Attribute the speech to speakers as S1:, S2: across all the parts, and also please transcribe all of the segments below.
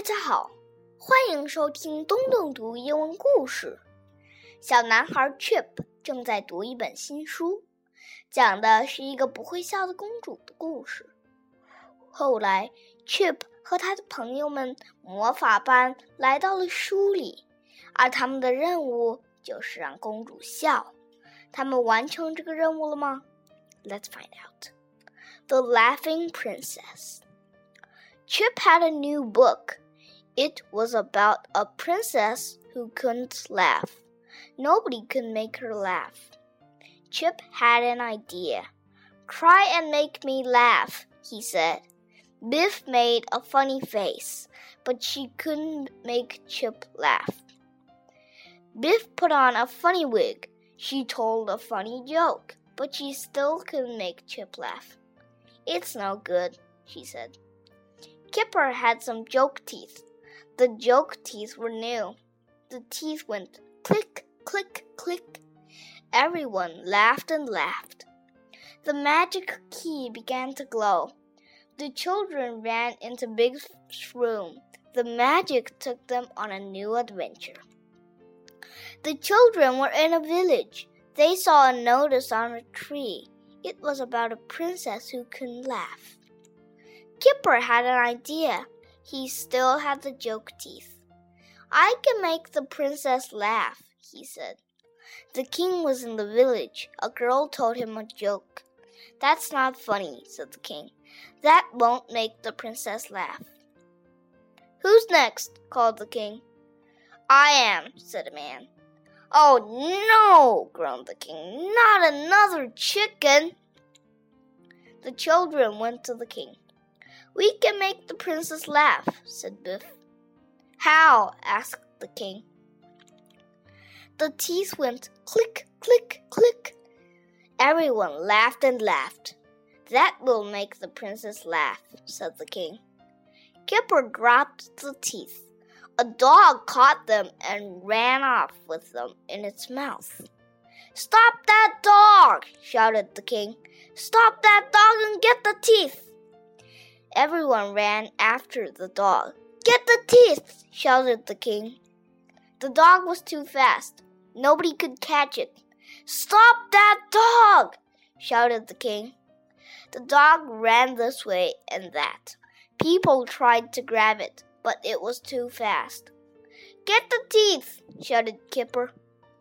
S1: 家好，欢迎收听东东读英文故事。小男孩 Chip 正在读一本新书，讲的是一个不会笑的公主的故事。后来 Chip 和他的朋友们魔法班来到了书里，而他们的任务就是让公主笑。他们完成这个任务了吗？ Let's find out. The Laughing Princess. Chip had a new book. It was about a princess who couldn't laugh. Nobody could make her laugh. Chip had an idea. "Try and make me laugh," he said. Biff made a funny face, but she couldn't make Chip laugh. Biff put on a funny wig. She told a funny joke, but she still couldn't make Chip laugh. "It's no good," she said. Kipper had some joke teeth. The joke teeth were new. The teeth went click, click, click. Everyone laughed and laughed. The magic key began to glow. The children ran into Big's room. The magic took them on a new adventure. The children were in a village. They saw a notice on a tree. It was about a princess who couldn't laugh. Kipper had an idea. He still had the joke teeth. "I can make the princess laugh," he said. The king was in the village. A girl told him a joke. "That's not funny," said the king. "That won't make the princess laugh." "Who's next?" called the king. "I am," said a man. "Oh, no," groaned the king. "Not another chicken." The children went to the king. "We can make the princess laugh," said Biff. "How?" asked the king. The teeth went click, click, click. Everyone laughed and laughed. "That will make the princess laugh," said the king. Kipper dropped the teeth. A dog caught them and ran off with them in its mouth. "Stop that dog!" shouted the king. "Stop that dog and get the teeth!" Everyone ran after the dog. "Get the teeth!" shouted the king. The dog was too fast. Nobody could catch it. "Stop that dog!" shouted the king. The dog ran this way and that. People tried to grab it, but it was too fast. "Get the teeth!" shouted Kipper.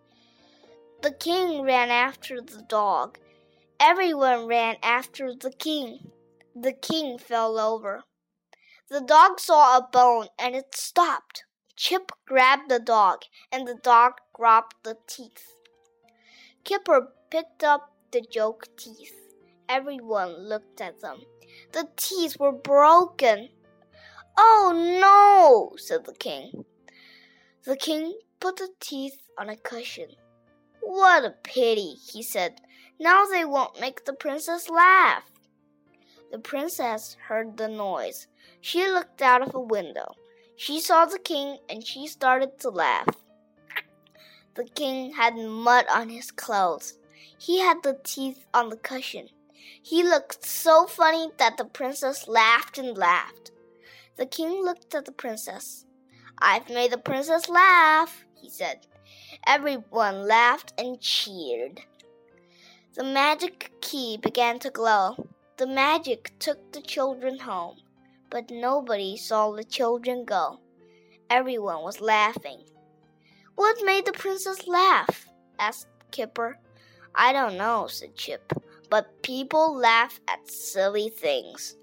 S1: The king ran after the dog. Everyone ran after the king. The king fell over. The dog saw a bone and it stopped. Chip grabbed the dog and the dog dropped the teeth. Kipper picked up the joke teeth. Everyone looked at them. The teeth were broken. "Oh, no," said the king. The king put the teeth on a cushion. "What a pity," he said. "Now they won't make the princess laugh." The princess heard the noise. She looked out of a window. She saw the king and she started to laugh. The king had mud on his clothes. He had the teeth on the cushion. He looked so funny that the princess laughed and laughed. The king looked at the princess. "I've made the princess laugh," he said. Everyone laughed and cheered. The magic key began to glow. The magic took the children home, but nobody saw the children go. Everyone was laughing. "What made the princess laugh?" asked Kipper. "I don't know," said Chip, "but people laugh at silly things."